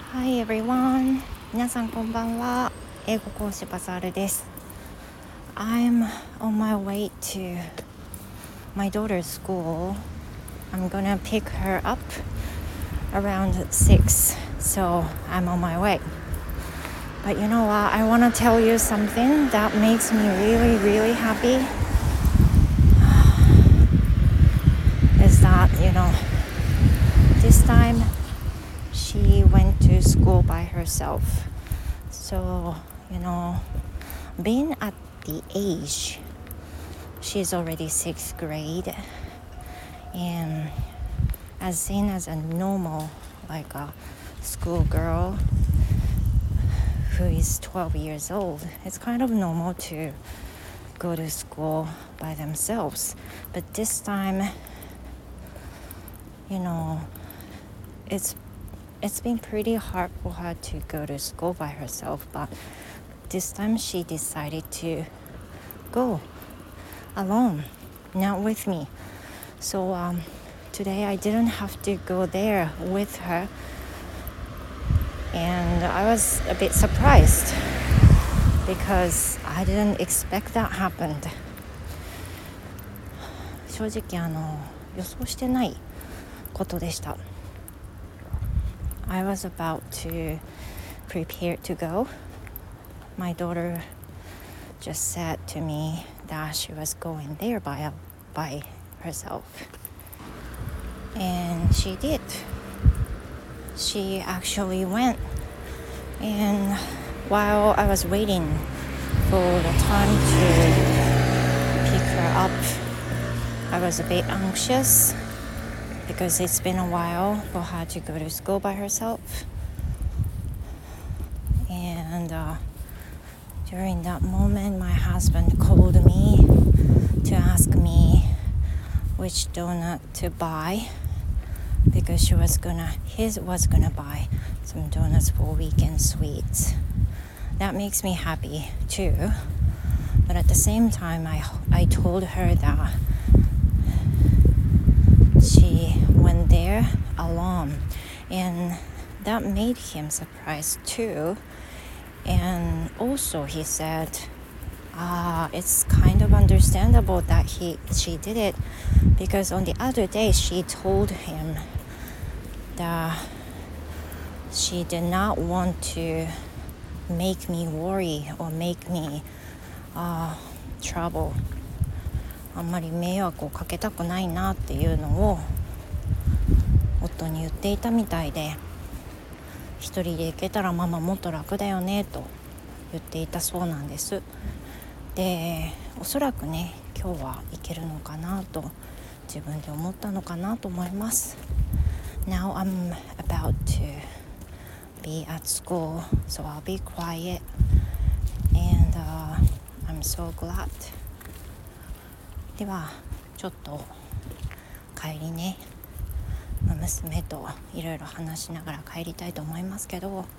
Hi everyone. 皆さんこんばんは。英語講師バザールです。I'm on my way to my daughter's school. I'm gonna pick her up around 6, so I'm on my way. But you know what? I want to tell you something that makes me really, really happy. Is that, this time she went to school by herself. So, being at the age, she's already 6th grade, and as seen as a normal, like a schoolgirl who is 12 years old, it's kind of normal to go to school by themselves. But this time, it's been pretty hard for her to go to school by herself, but this time she decided to go alone, not with me. So today I didn't have to go there with her, and I was a bit surprised because I didn't expect that happened. 正直予想してないことでした。I was about to prepare to go. My daughter just said to me that she was going there by herself. And she did. She actually went. And while I was waiting for the time to pick her up, I was a bit anxious because it's been a while for her to go to school by herself. And during that moment, my husband called me to ask me which donut to buy because he was gonna buy some donuts for weekend sweets. That makes me happy too. But at the same time, I told her that she went there alone, and that made him surprised too. And also he said it's kind of understandable that she did it, because on the other day she told him that she did not want to make me worry or make me trouble. あんまり迷惑をかけたくないなっていうのを夫に言っていたみたいで、一人で行けたらママもっと楽だよねと言っていたそうなんです。で、おそらくね、今日は行けるのかなと自分で思ったのかなと思います。Now I'm about to be at school, so I'll be quiet, and I'm so glad. ではちょっと帰りね、娘といろいろ話しながら帰りたいと思いますけど、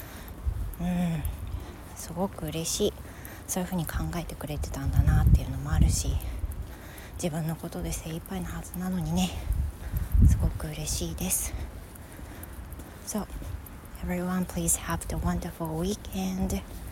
すごく嬉しい。そういうふうに考えてくれてたんだなっていうのもあるし、自分のことで精一杯なはずなのにね、すごく嬉しいです。So, everyone, please have the wonderful weekend.